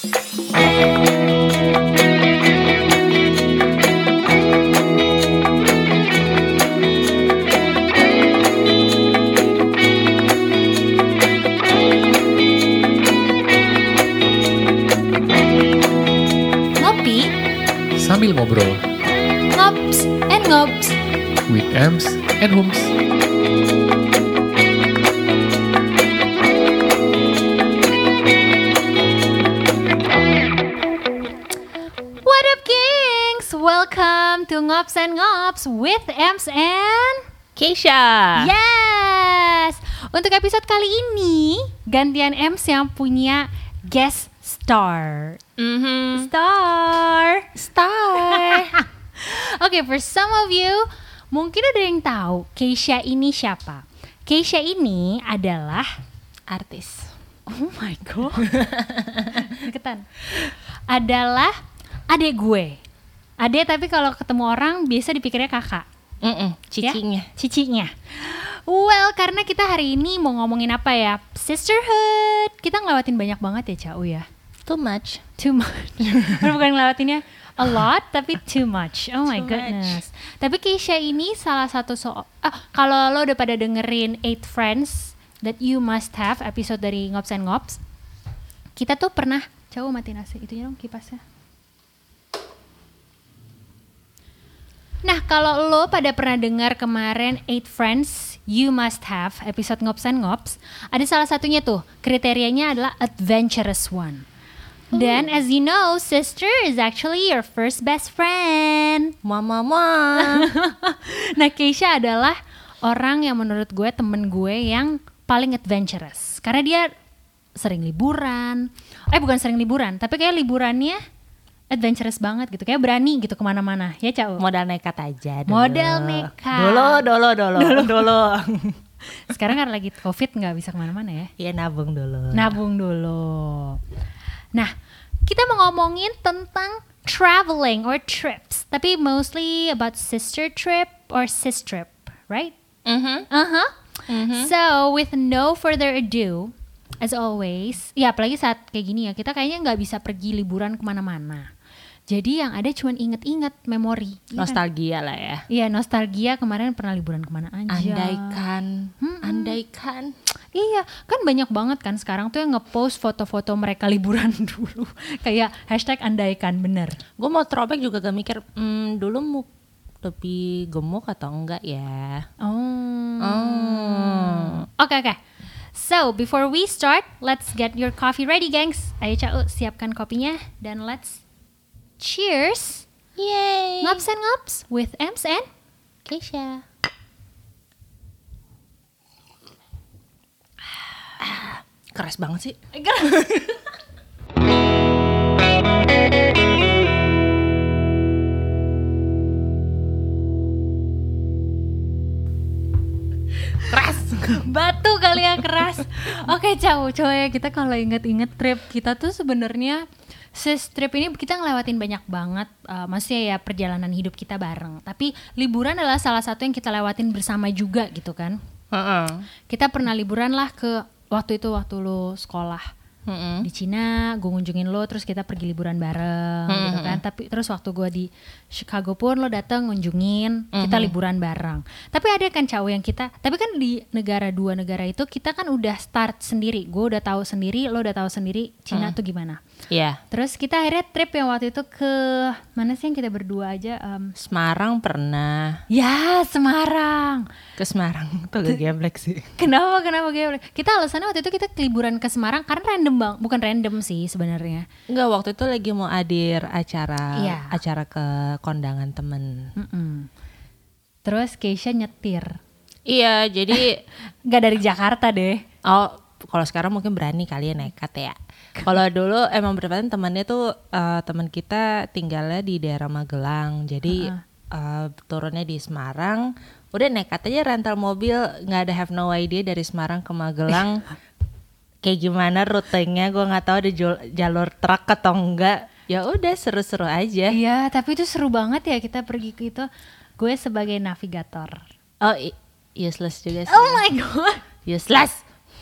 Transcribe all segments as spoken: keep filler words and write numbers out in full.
Ngopi sambil ngobrol Ngops and Ngops with Ems and Hums. What up, Kings? Welcome to Ngops and Ngops with Ems and Keisha. Yes. Untuk episode kali ini gantian Ems yang punya guest star. Mm-hmm. Star. Star. Oke, okay, for some of you mungkin ada yang tahu Keisha ini siapa. Keisha ini adalah Artis. oh my god, deketan. Adalah adik gue. Adik tapi kalau ketemu orang biasa dipikirnya kakak. Mm-mm, cicinya. Ya? Cicinya. Well, karena kita hari ini mau ngomongin apa ya? Sisterhood. Kita ngelewatin banyak banget ya, Cau ya. Too much. Too much. Bukan ngelewatinnya a lot, tapi too much. Oh my Too goodness. Much. Tapi Keisha ini salah satu so. Ah, kalau lo udah pada dengerin Eight Friends That You Must Have episode dari Ngops and Ngops, kita tuh pernah. Coba matiin A C itunya dong, kipasnya. Nah, kalau lo pada pernah dengar kemarin Eight Friends You Must Have episode Ngops and Ngops, ada salah satunya tuh kriterianya adalah adventurous one. Dan as you know, sister is actually your first best friend. Mama mama. Nah, Keisha adalah orang yang menurut gue temen gue yang paling adventurous. Karena dia sering liburan. Eh bukan sering liburan, tapi kayak liburannya adventurous banget gitu. Kayak berani gitu kemana-mana. Ya, Cau? Modal nekat aja dulu. Modal nekat. Dolo, dolo, dolo. Dolo, dolo. Sekarang kan lagi covid gak bisa kemana-mana ya. Iya, nabung dulu. Nabung dulu. Nah, kita mau ngomongin tentang traveling or trips. Tapi mostly about sister trip or sis trip, right? Mm-hmm. Uh-huh. Mm-hmm. So, with no further ado, as always, ya apalagi saat kayak gini ya, kita kayaknya nggak bisa pergi liburan kemana-mana. Jadi yang ada cuma inget-inget memori. Nostalgia lah ya. Iya, nostalgia kemarin pernah liburan kemana aja. Andaikan, Hmm, andaikan. Iya, kan banyak banget kan sekarang tuh yang ngepost foto-foto mereka liburan dulu. Kayak hashtag andaikan, bener. Gue mau throwback juga gak mikir, hmm, dulu mau lebih gemuk atau enggak ya. Oh. Oh. Oke, okay, oke. Okay. So, before we start, let's get your coffee ready, gengs. Ayo, Cau, siapkan kopinya. Dan let's cheers. Yay. Ngops and Ngops with Ems and Keisha. Ah, keras banget sih. Keras. Batu kali ya, keras. Oke, Cau, coba ya kita kalau inget-inget trip kita tuh sebenarnya sis trip ini kita ngelewatin banyak banget, uh, maksudnya ya perjalanan hidup kita bareng. Tapi liburan adalah salah satu yang kita lewatin bersama juga gitu kan. Uh-uh. Kita pernah liburan lah ke waktu itu waktu lo sekolah. Mm-hmm. Di Cina, gue ngunjungin lo, terus kita pergi liburan bareng, mm-hmm. gitu kan. Tapi terus waktu gue di Chicago pun lo datang ngunjungin, mm-hmm. kita liburan bareng. Tapi ada kan Cau yang kita, tapi kan di negara dua negara itu kita kan udah start sendiri. Gue udah tahu sendiri, lo udah tahu sendiri Cina mm. tuh gimana. Iya. Yeah. Terus kita akhirnya trip yang waktu itu ke mana sih yang kita berdua aja? Um, Semarang pernah. Ya, Semarang. Ke Semarang tuh agak geblek sih. Kenapa? Kenapa geblek? Kita alasannya waktu itu kita liburan ke Semarang karena random bang, bukan random sih sebenarnya. Enggak, waktu itu lagi mau hadir acara, iya. acara ke kondangan temen. Mm-mm. Terus Keisha nyetir. Iya, jadi nggak dari Jakarta deh. Oh, kalau sekarang mungkin berani kali ya nekat ya. Kalau dulu emang bertepatan temannya tuh uh, teman kita tinggalnya di daerah Magelang, jadi uh-huh. uh, turunnya di Semarang. Udah nekat aja rental mobil, nggak ada have no idea dari Semarang ke Magelang. Kayak gimana rutenya gue nggak tahu ada jalur truk atau enggak. Ya udah seru-seru aja. Iya, tapi itu seru banget ya kita pergi ke itu. Gue sebagai navigator. Oh, i- useless juga sih. Oh my god. Useless.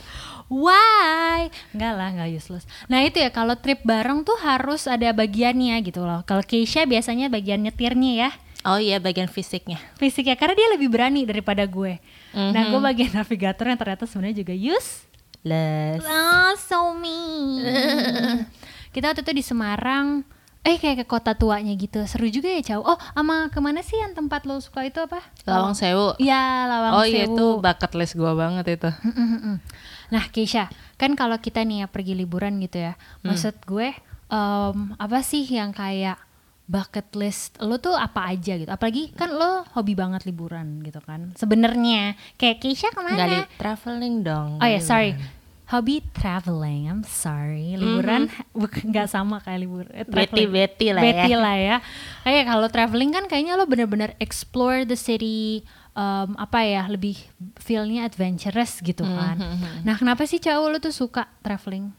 Why? Enggak lah, enggak useless. Nah itu ya, kalau trip bareng tuh harus ada bagiannya gitu loh. Kalau Keisha biasanya bagian nyetirnya ya. Oh iya, bagian fisiknya. Fisiknya, karena dia lebih berani daripada gue. Mm-hmm. Nah gue bagian navigator yang ternyata sebenarnya juga useless. Oh, so mean. Kita waktu itu di Semarang, eh kayak ke kota tuanya gitu. Seru juga ya, Cau. Oh, sama kemana sih yang tempat lo suka itu apa? Lawang Sewu. Iya, Lawang oh, Sewu. Oh iya, itu bucket list gue banget itu. Nah Keisha, kan kalau kita nih ya pergi liburan gitu ya, hmm. maksud gue um, apa sih yang kayak bucket list lo tuh apa aja gitu? Apalagi kan lo hobi banget liburan gitu kan. Sebenarnya kayak Keisha kemana? Gak li- traveling dong. Oh ya, yeah, sorry. Hobi traveling, I'm sorry. Liburan mm-hmm. nggak sama kayak liburan. Eh, Beti-beti lah Beti ya. lah ya. Kayak kalau traveling kan kayaknya lo bener-bener explore the city. Um, apa ya, lebih feel-nya adventurous gitu kan. Mm-hmm. Nah kenapa sih cowok lo tuh suka traveling?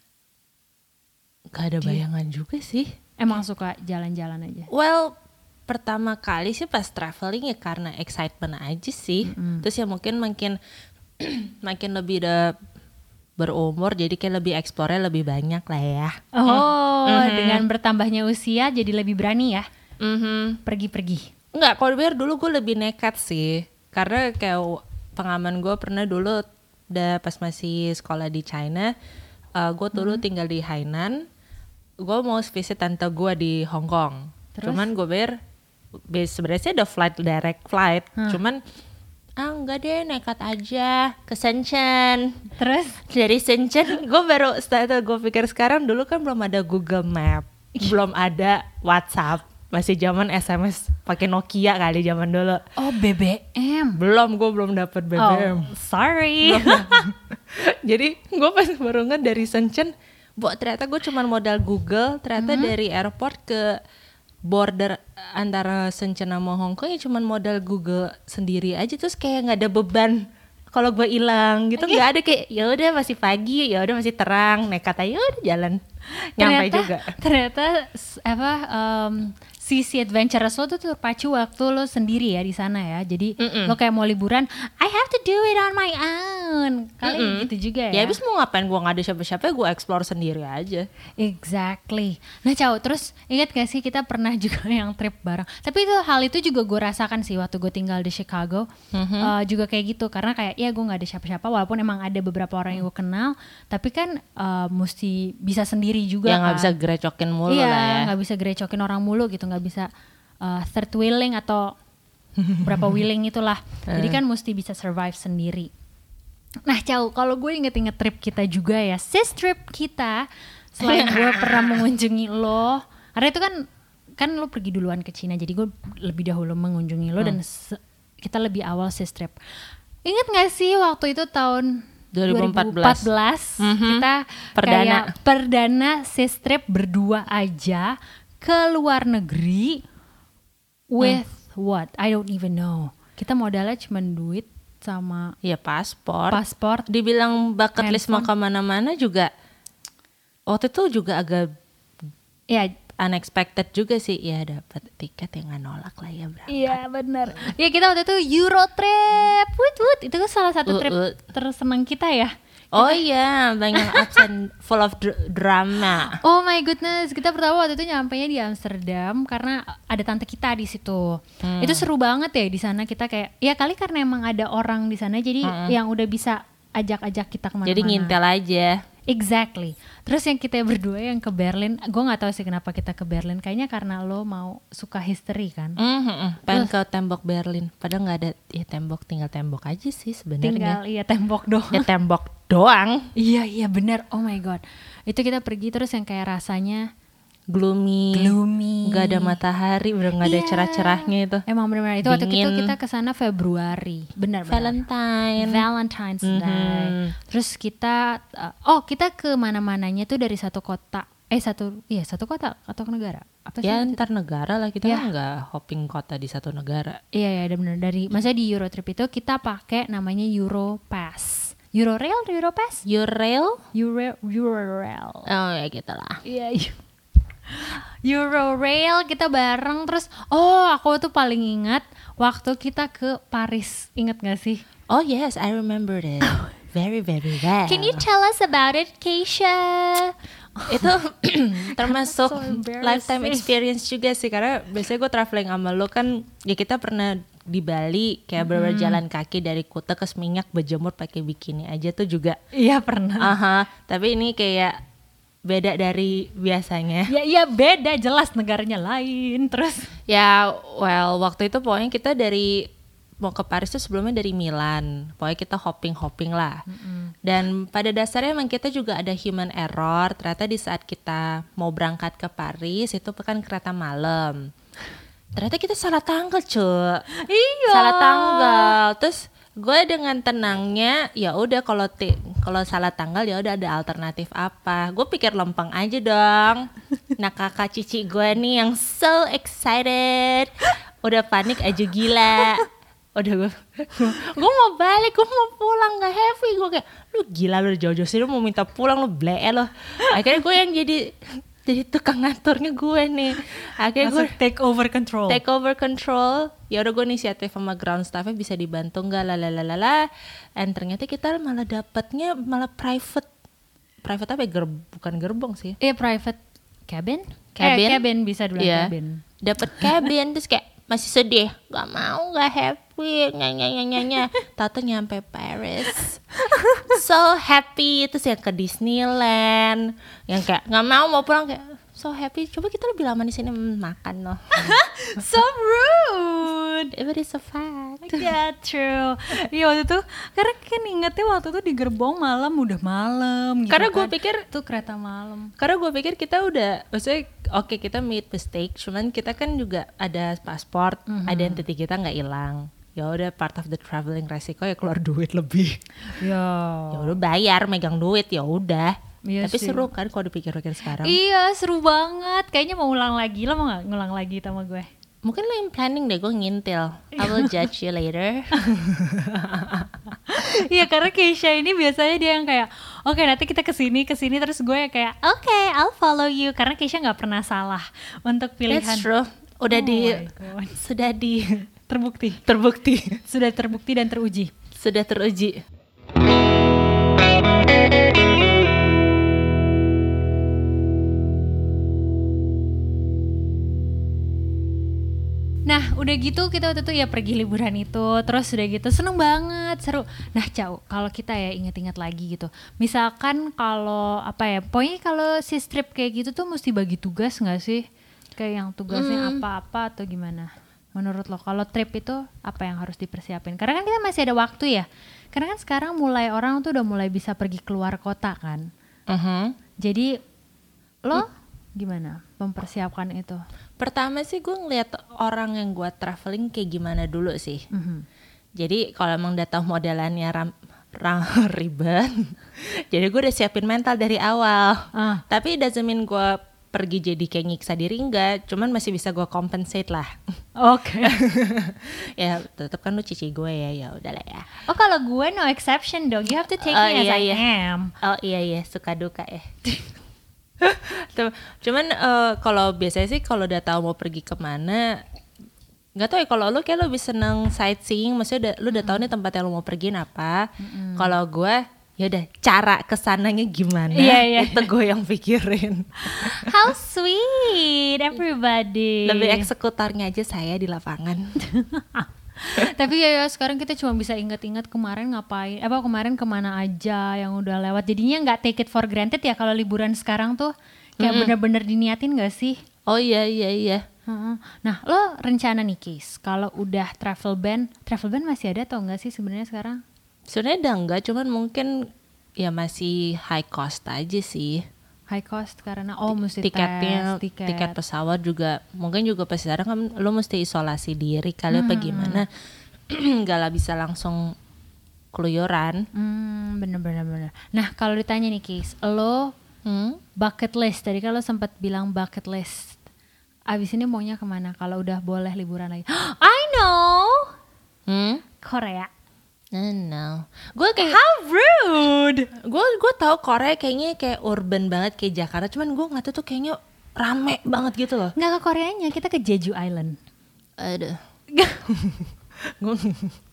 Gak ada bayangan Dia. juga sih. Emang suka jalan-jalan aja? Well, pertama kali sih pas traveling ya karena excitement aja sih. Mm-hmm. Terus ya mungkin makin makin lebih udah berumur, jadi kayak lebih explore-nya lebih banyak lah ya. Oh, mm-hmm. dengan bertambahnya usia jadi lebih berani ya? Mm-hmm. Pergi-pergi? Enggak, kalau biar dulu gue lebih nekat sih. Karena kayak pengalaman gue pernah dulu udah pas masih sekolah di China, uh, gue dulu hmm. tinggal di Hainan. Gue mau visit tante gue di Hong Kong. Terus? Cuman gue biar sebenarnya sih ada flight direct flight. Hmm. Cuman ah enggak deh, nekat aja ke Shenzhen. Terus dari Shenzhen gue baru setelah gue pikir sekarang, dulu kan belum ada Google Map, belum ada WhatsApp. Masih zaman S M S pakai Nokia kali zaman dulu. Oh, B B M. Belum, gue belum dapet B B M. Oh, sorry. Jadi gue pas baru nge dari Shenzhen, bu ternyata gue cuma modal Google. Ternyata mm-hmm. dari airport ke border antara Shenzhen sama Hong Kong ya cuma modal Google sendiri aja. Terus kayak nggak ada beban kalau gue hilang gitu, nggak ada kayak ya udah masih pagi, ya udah masih terang, nekat aja udah jalan. Nyampe ternyata, juga. Ternyata apa um, sisi adventurous lo tuh terpacu waktu lo sendiri ya di sana ya. Jadi Mm-mm. lo kayak mau liburan, I have to do it on my own. Kali Mm-mm. gitu juga ya. Ya abis mau ngapain, gue gak ada siapa-siapa, gue explore sendiri aja. Exactly. Nah Cau, terus ingat gak sih kita pernah juga yang trip bareng. Tapi itu hal itu juga gue rasakan sih waktu gue tinggal di Chicago. Mm-hmm. uh, Juga kayak gitu. Karena kayak ya gue gak ada siapa-siapa, walaupun emang ada beberapa orang yang gue kenal, tapi kan uh, mesti bisa sendiri juga ya kan. Gak bisa gerecokin mulu iya, lah ya. Gak bisa gerecokin orang mulu gitu, gak bisa uh, third wheeling atau berapa wheeling itulah. Jadi kan mesti bisa survive sendiri. Nah Cau, kalau gue inget-inget trip kita juga ya, sis trip kita, selain gue pernah mengunjungi lo, karena itu kan kan lo pergi duluan ke Cina, jadi gue lebih dahulu mengunjungi lo hmm. dan se- kita lebih awal sis trip. Ingat gak sih waktu itu tahun dua ribu empat belas, dua ribu empat belas mm-hmm. kita perdana. kayak perdana sis trip berdua aja ke luar negeri with hmm. what? I don't even know. Kita modalnya cuma duit sama ya paspor. Paspor. Dibilang bucket list mau kemana-mana juga. Waktu itu juga agak ya unexpected juga sih. Ya dapat tiket yang nggak nolak lah ya berangkat. Iya benar. Ya kita waktu itu Euro trip. Wut wut. Itu kan salah satu uh, trip uh. tersenang kita ya. Oh iya, banyak ups and full of dr- drama. Oh my goodness, kita pertama waktu itu nyampainya di Amsterdam karena ada tante kita di situ. Hmm. Itu seru banget ya di sana, kita kayak ya kali karena emang ada orang di sana jadi hmm. yang udah bisa ajak-ajak kita kemana-mana. Jadi ngintel aja. Exactly. Terus yang kita berdua yang ke Berlin, gue nggak tahu sih kenapa kita ke Berlin. Kayaknya karena lo mau suka history kan. Mm-hmm. Pengen ke tembok Berlin. Padahal nggak ada ya tembok, tinggal tembok aja sih sebenarnya. Tinggal iya tembok doang. Ya tembok doang. Iya iya benar. Oh my god. Itu kita pergi terus yang kayak rasanya gloomy, gloomy, nggak ada matahari, udah nggak ada yeah. cerah-cerahnya itu. Emang benar-benar itu waktu itu kita kesana Februari, benar. Valentine, Valentine's mm-hmm. Day. Terus kita, uh, oh kita ke mana-mananya tuh dari satu kota, eh satu, iya satu kota atau negara? Apa ya antar negara lah, kita ya. kan nggak hopping kota di satu negara. Iya ya, benar. Dari, maksudnya di Eurotrip itu kita pakai namanya Europass. Eurorail, Europass? Eurorail? Euro, Eurorail. Oh ya gitulah. Iya. iya. Eurorail kita bareng. Terus oh aku tuh paling ingat waktu kita ke Paris, ingat gak sih? Oh yes, I remember it very very well. Can you tell us about it, Keisha? Itu termasuk So embarrassing. lifetime experience juga sih, karena biasanya gue traveling sama lo kan, ya kita pernah di Bali kayak bener-bener jalan kaki dari Kuta ke Seminyak berjemur pakai bikini aja tuh juga. Iya pernah. Aha, tapi ini kayak beda dari biasanya. Ya iya beda, jelas negaranya lain. Terus Ya, well waktu itu pokoknya kita dari mau ke Paris tuh sebelumnya dari Milan. Pokoknya kita hopping-hopping lah. Mm-hmm. Dan pada dasarnya emang kita juga ada human error. Ternyata di saat kita mau berangkat ke Paris itu kan kereta malam. Ternyata kita salah tanggal, cuy. iya. Salah tanggal. Terus gue dengan tenangnya, ya udah kalau ti- kalau salah tanggal ya udah ada alternatif apa. Gue pikir lempeng aja dong. Nah kakak cici gue nih yang so excited, udah panik aja gila. Udah gue, gue mau balik, gue mau pulang, nggak happy. Gue kayak, lu gila lu jauh-jauh sih, lu mau minta pulang, lu ble lo. Akhirnya gue yang jadi jadi tukang ngaturnya gue nih. Akhirnya gue take over control. take over control. Ya udah gue inisiatif sama ground staffnya bisa dibantu nggak, lalalala. And ternyata kita malah dapatnya malah private, private apa? Ya? Ger- bukan gerbong sih. Iya private cabin. Cabin. Eh, cabin bisa dulu Iya. cabin. Dapat cabin terus kayak masih sedih, nggak mau, nggak happy, nyanyi nyanyi nyanyi. Tato nyampe Paris, so happy. Terus yang ke Disneyland, yang kayak nggak mau mau pulang kayak so happy. Coba kita lebih lama di sini hmm, makan loh. So rude. But it's a fact. Yeah, true. Iya waktu itu, karena kan ingetnya waktu itu di gerbong malam, udah malam gitu. Karena gue kan. pikir tuh kereta malam. Karena gue pikir kita udah, maksudnya oke okay, kita made mistake, cuman kita kan juga ada paspor, mm-hmm. identity kita nggak hilang. Ya udah part of the traveling resiko ya keluar duit lebih. Ya. Ya udah bayar, megang duit ya udah. Iya Tapi sih. seru kan kalau dipikir-pikir sekarang. Iya seru banget. Kayaknya mau ulang lagi. Lo mau nggak ngulang lagi sama gue? Mungkin lo yang planning deh, gue ngintil. I will judge you later. Iya karena Keisha ini biasanya dia yang kayak oke okay, nanti kita kesini kesini terus gue yang kayak oke okay, I'll follow you, karena Keisha nggak pernah salah untuk pilihan. That's true. Udah Oh di my God. sudah di Terbukti, terbukti, sudah terbukti dan teruji. sudah teruji. Nah udah gitu kita waktu itu ya pergi liburan itu, terus udah gitu seneng banget, seru. Nah Cau, kalau kita ya inget-inget lagi gitu, misalkan kalau apa ya, pokoknya kalau si trip kayak gitu tuh mesti bagi tugas nggak sih? Kayak yang tugasnya Hmm. apa-apa atau gimana? Menurut lo kalau trip itu apa yang harus dipersiapin? Karena kan kita masih ada waktu ya. Karena kan sekarang mulai orang tuh udah mulai bisa pergi keluar kota kan. Uh-huh. Jadi lo gimana mempersiapkan itu? Pertama sih gue ngeliat orang yang gue traveling kayak gimana dulu sih. Mm-hmm. Jadi kalau emang udah tahu modelannya ram, ram, ribet, jadi gue udah siapin mental dari awal. Ah. Tapi doesn't mean gue pergi jadi kayak nyiksa diri, enggak. Cuman masih bisa gue compensate lah. Oke. Ya tetap kan lu cici gue ya, ya udahlah ya. Oh kalau gue no exception dong, you have to take Oh, me as iya, I iya. am. Oh iya iya, suka duka ya. Tuh, cuman uh, kalau biasanya sih kalau udah tahu mau pergi kemana, nggak tahu ya, kalau lu kayak lebih seneng sightseeing, maksudnya udah, lu udah tahu nih tempat yang lu mau pergiin apa. Mm-hmm. Kalau gue ya udah cara kesananya gimana, Iya, iya. itu gue yang pikirin. How sweet everybody. Lebih eksekutornya aja saya di lapangan. Tapi ya, ya sekarang kita cuma bisa ingat-ingat kemarin ngapain, apa kemarin kemana aja yang udah lewat. Jadinya nggak take it for granted ya kalau liburan sekarang tuh kayak mm-hmm. bener-bener diniatin nggak sih? Oh iya iya iya. Uh-uh. Nah lo rencana nih Kis, kalau udah travel ban, travel ban masih ada atau enggak sih sebenarnya sekarang? Sebenarnya udah enggak, cuman mungkin ya masih high cost aja sih. High cost karena oh mesti tiketnya, tes, tiket. tiket pesawat juga mungkin juga pas sekarang kan lo mesti isolasi diri kali hmm. apa gimana, nggak lah bisa langsung keluyuran. Hmm, bener-bener bener. Nah kalau ditanya nih Kis, lo hmm? bucket list tadi kalau sempat bilang bucket list, abis ini maunya kemana kalau udah boleh liburan lagi? I know, hmm? Korea. I know. Gue kayak How rude. Gue gue tahu Korea kayaknya kayak urban banget kayak Jakarta, cuman gue nggak tahu tuh kayaknya rame banget gitu loh. Nggak ke Koreanya, kita ke Jeju Island. Aduh.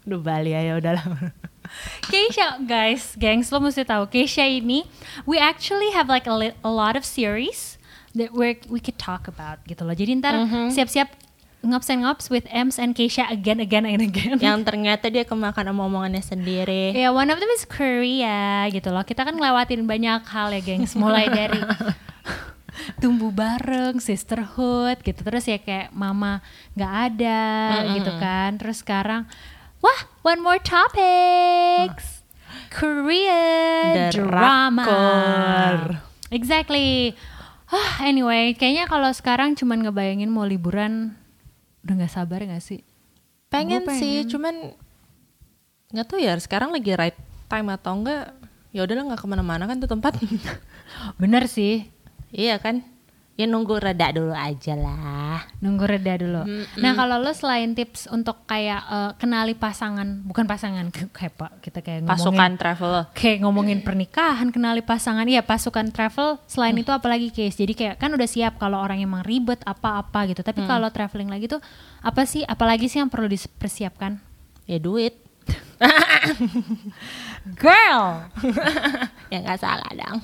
Duh Bali ya udahlah. Keisha, guys, gengs, lo mesti tahu Keisha ini, we actually have like a, li- a lot of series that we we could talk about gitu loh. Jadi ntar Mhm. siap-siap ngops and ngops with Ems and Keisha again, again, and again. Yang ternyata dia kemakan sama omongannya sendiri. Ya, yeah, one of them is Korea gitu loh. Kita kan ngelewatin banyak hal ya, gengs. Mulai dari tumbuh bareng, sisterhood gitu. Terus ya kayak mama nggak ada Mm-mm. gitu kan. Terus sekarang, wah, one more topics. Korean drama. Drakor. Exactly. Ah, anyway, kayaknya kalau sekarang cuman ngebayangin mau liburan, udah nggak sabar nggak sih? Pengen, Gua pengen. sih, cuman nggak tahu ya sekarang lagi right time atau enggak. Ya udahlah nggak kemana-mana kan tuh tempat. Bener sih. Iya kan? Ya nunggu reda dulu aja lah. Nunggu reda dulu. Mm-mm. Nah kalau lo selain tips untuk kayak eh, kenali pasangan, bukan pasangan kayak pak kita kayak Pasukan ngomongin travel. kayak ngomongin pernikahan, kenali pasangan, iya pasukan travel. Selain itu apalagi case. Jadi kayak kan udah siap kalau orang emang ribet apa-apa gitu. Tapi kalau traveling lagi tuh apa sih? Apalagi sih yang perlu dipersiapkan? Ya duit. Girl, Ya nggak salah dong.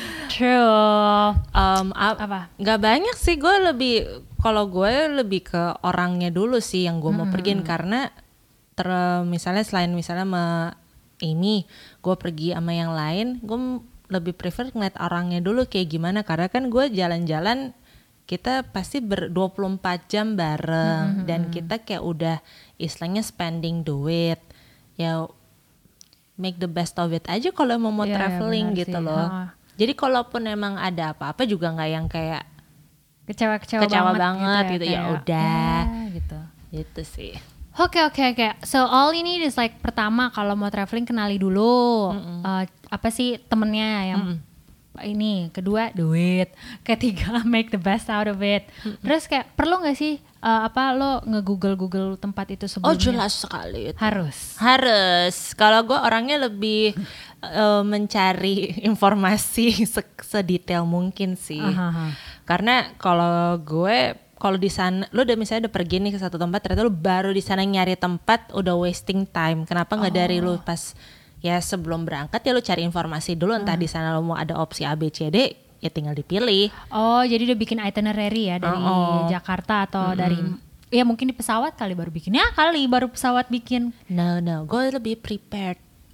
true. Um, ap- Apa? Nggak banyak sih, gue lebih kalau gue lebih ke orangnya dulu sih yang gue mau pergiin, karena ter misalnya selain misalnya sama ini gue pergi sama yang lain, gue m- lebih prefer ngeliat orangnya dulu kayak gimana, karena kan gue jalan-jalan kita pasti ber dua puluh empat jam bareng dan kita kayak udah istilahnya spending duit ya, make the best of it aja kalau mau mau Iya, iya, traveling benar gitu sih. loh. Ha. Jadi kalaupun emang ada apa-apa juga nggak yang kayak Kecewa-kecewa Kecewa banget, banget gitu, ya kayak, udah. ya, gitu. gitu sih. Oke oke oke. So all ini is like pertama kalau mau traveling kenali dulu uh, apa sih temennya yang ini. Kedua duit. Ketiga make the best out of it. Terus kayak perlu nggak sih uh, apa lo nge-google Google tempat itu sebelumnya? Oh jelas sekali itu. Harus. Harus. Kalau gue orangnya lebih eh, mencari informasi se- sedetail mungkin sih. Aha. Karena kalau gue kalau di sana lu udah misalnya udah pergi nih ke satu tempat, ternyata lu baru di sana nyari tempat udah wasting time. Kenapa nggak dari lu pas ya sebelum berangkat ya lu cari informasi dulu, entah di sana lu mau ada opsi A B C D ya tinggal dipilih. Oh jadi udah bikin itinerary ya dari Oh, oh. Jakarta atau dari ya mungkin di pesawat kali baru bikin. Ya kali baru pesawat bikin. No no, gue lebih prepared.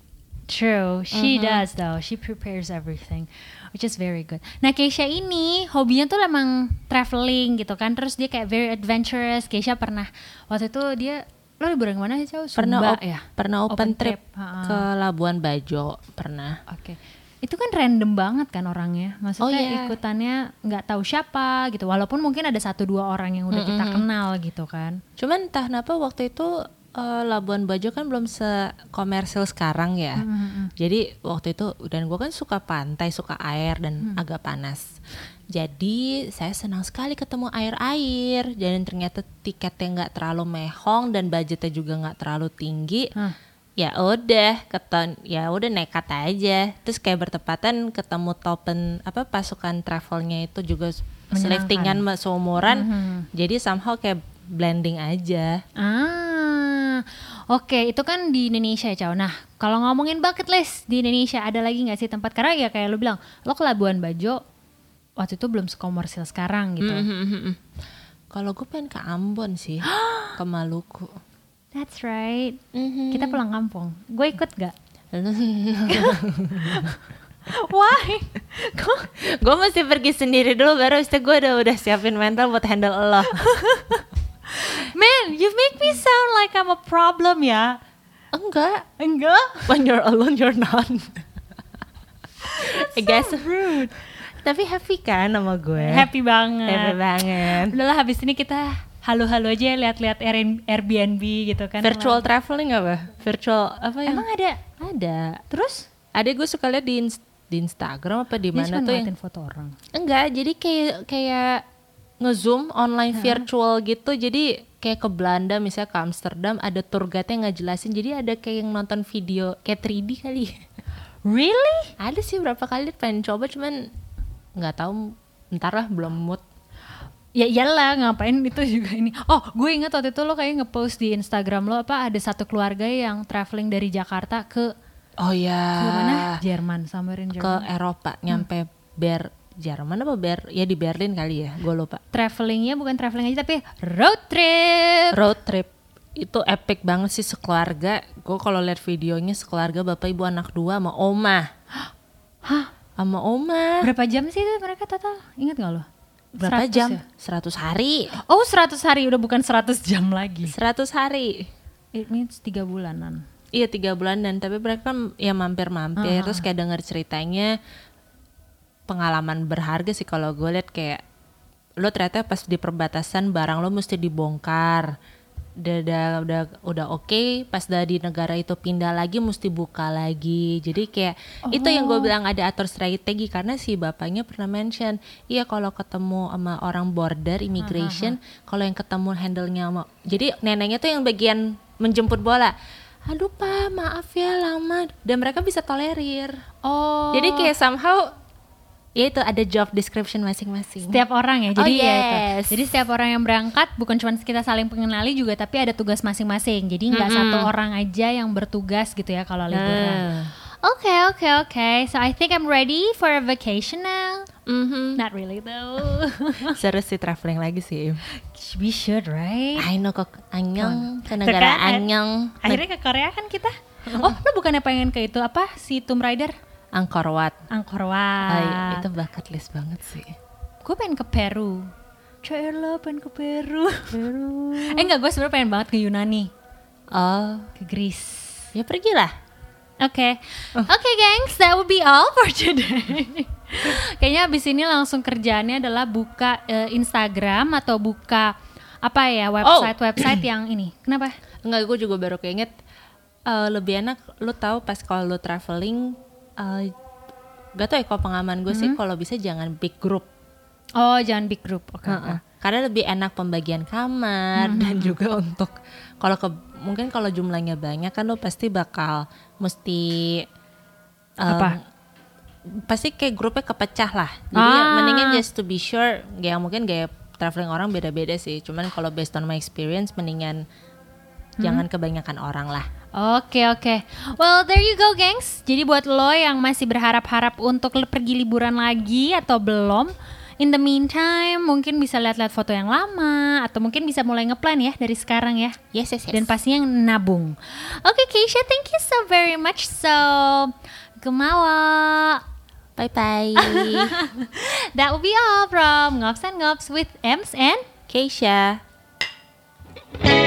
True, she does though. She prepares everything, which is very good. Nah, Keisha ini hobinya tuh emang traveling gitu kan. Terus dia kayak very adventurous. Keisha pernah waktu itu dia lo liburan kemana sih, Cau? Pernah Sumba op- ya? pernah open, Open trip, trip, ha-ha. ke Labuan Bajo pernah. Oke. Itu kan random banget kan orangnya. Maksudnya Oh, iya. ikutannya nggak tahu siapa gitu. Walaupun mungkin ada satu dua orang yang udah kita kenal gitu kan. Cuman entah kenapa waktu itu eh, Labuan Bajo kan belum sekomersil sekarang ya. Jadi waktu itu dan gue kan suka pantai, suka air dan agak panas. Jadi saya senang sekali ketemu air-air. Dan ternyata tiketnya nggak terlalu mehong dan budgetnya juga nggak terlalu tinggi. Hah. Ya udah, keton, ya udah nekat aja. Terus kayak bertepatan ketemu topen apa pasukan travelnya itu juga seliftingan seumuran. Jadi somehow kayak blending aja. Ah, oke, itu kan di Indonesia ya, Cau. Nah, kalau ngomongin bucket list di Indonesia, ada lagi nggak sih tempat? Karena ya kayak lu bilang, lo ke Labuan Bajo waktu itu belum sekomersil sekarang gitu. Kalau gue pengen ke Ambon sih, ke Maluku. That's right. Kita pulang kampung. Gue ikut gak? Why? Kok? Gue mesti pergi sendiri dulu baru habis itu gue udah udah siapin mental buat handle lo. Man, you make me sound like I'm a problem ya. Enggak, Enggak? when you're alone you're not. I guess Rude. tapi happy kan sama gue. Happy banget. Happy banget. Udahlah habis ini kita halo-halo aja lihat-lihat Air- Airbnb gitu kan. Virtual traveling apa? Virtual apa ya? Emang ada? Ada. Terus? Ada gue suka lihat di, ins- di Instagram apa di Dia mana cuma tuh yang ngeliatin foto orang. enggak, jadi kayak kayak nge-zoom online virtual gitu. Jadi kayak ke Belanda misalnya ke Amsterdam ada tour guide yang ngejelasin. Jadi ada kayak yang nonton video kayak tiga D kali. Really? Ada sih berapa kali pengen coba cuman nggak tahu, ntar lah belum mood. Ya iyalah, ngapain itu juga ini. Oh, gue ingat waktu itu lo kayak ngepost di Instagram lo apa ada satu keluarga yang traveling dari Jakarta ke Oh ya. ke mana? Jerman, somewhere in Ke Jerman. Eropa, nyampe Ber Jerman apa Ber ya di Berlin kali ya, gue lupa. Travelingnya bukan traveling aja tapi road trip. Road trip itu epic banget sih sekeluarga. Gue kalau lihat videonya sekeluarga bapak ibu anak dua sama oma. Hah? Sama oma. Berapa jam sih itu mereka total? Ingat gak lo? Berapa seratus jam? ya? seratus hari. Oh seratus hari, udah bukan seratus jam lagi. seratus hari. It means tiga bulanan. Iya tiga bulan dan tapi mereka kan ya mampir-mampir Uh-huh. terus kayak denger ceritanya pengalaman berharga sih kalau gue liat kayak lo ternyata pas di perbatasan barang lo mesti dibongkar udah udah udah, udah oke okay, pas udah di negara itu pindah lagi mesti buka lagi jadi kayak Oh. itu yang gue bilang ada atur strategi karena si bapaknya pernah mention iya kalau ketemu sama orang border immigration kalau yang ketemu handle-nya sama jadi neneknya tuh yang bagian menjemput bola aduh pak maaf ya lama dan mereka bisa tolerir Oh. jadi kayak somehow ya itu ada job description masing-masing Setiap orang ya, Oh, jadi ya yes. itu. Jadi setiap orang yang berangkat bukan cuma kita saling mengenali juga, tapi ada tugas masing-masing. Jadi nggak Mm-mm. satu orang aja yang bertugas gitu ya kalau liburan. Nah. Oke oke oke, so I think I'm ready for a vacation now. Mhm. Not really though. Seru sih traveling lagi sih. We should right? I know kok Anyong ke Tuh negara kan, Anyong. Akhirnya ke Korea kan kita. Oh, lo bukannya pengen ke itu apa si Tomb Raider? Angkor Wat. Angkor Ay, Wat. itu bucket list banget sih. Gue pengen ke Peru. Cela pengen ke Peru. Peru. eh enggak, gue sebenarnya pengen banget ke Yunani, Oh, ke Greece. ya pergilah. Oke, oke gengs, that would be all for today. Kayaknya abis ini langsung kerjaannya adalah buka eh, Instagram atau buka apa ya website-website yang ini. Kenapa? Enggak, gue juga baru keinget eh, lebih enak lu tahu pas kalau lu traveling eh, gak tau ya kalau pengalaman gue sih kalau bisa jangan big group. Oh, jangan big group. Oke. Heeh. Karena lebih enak pembagian kamar dan juga untuk kalau ke mungkin kalau jumlahnya banyak kan lo pasti bakal mesti em, Apa? pasti kayak grupnya kepecah lah. Jadi ya Ah. mendingan just to be sure, ya mungkin gaya traveling orang beda-beda sih. Cuman kalau based on my experience mendingan jangan kebanyakan orang lah. Oke oke. Well there you go gengs. Jadi buat lo yang masih berharap-harap untuk le- pergi liburan lagi atau belum, in the meantime mungkin bisa lihat-lihat foto yang lama atau mungkin bisa mulai ngeplan ya dari sekarang ya. Yes, yes, yes. Dan pastinya nabung. Oke Keisha, thank you so very much. So gemawa. Bye-bye. That will be all from Ngops and Ngops with Ems and Keisha.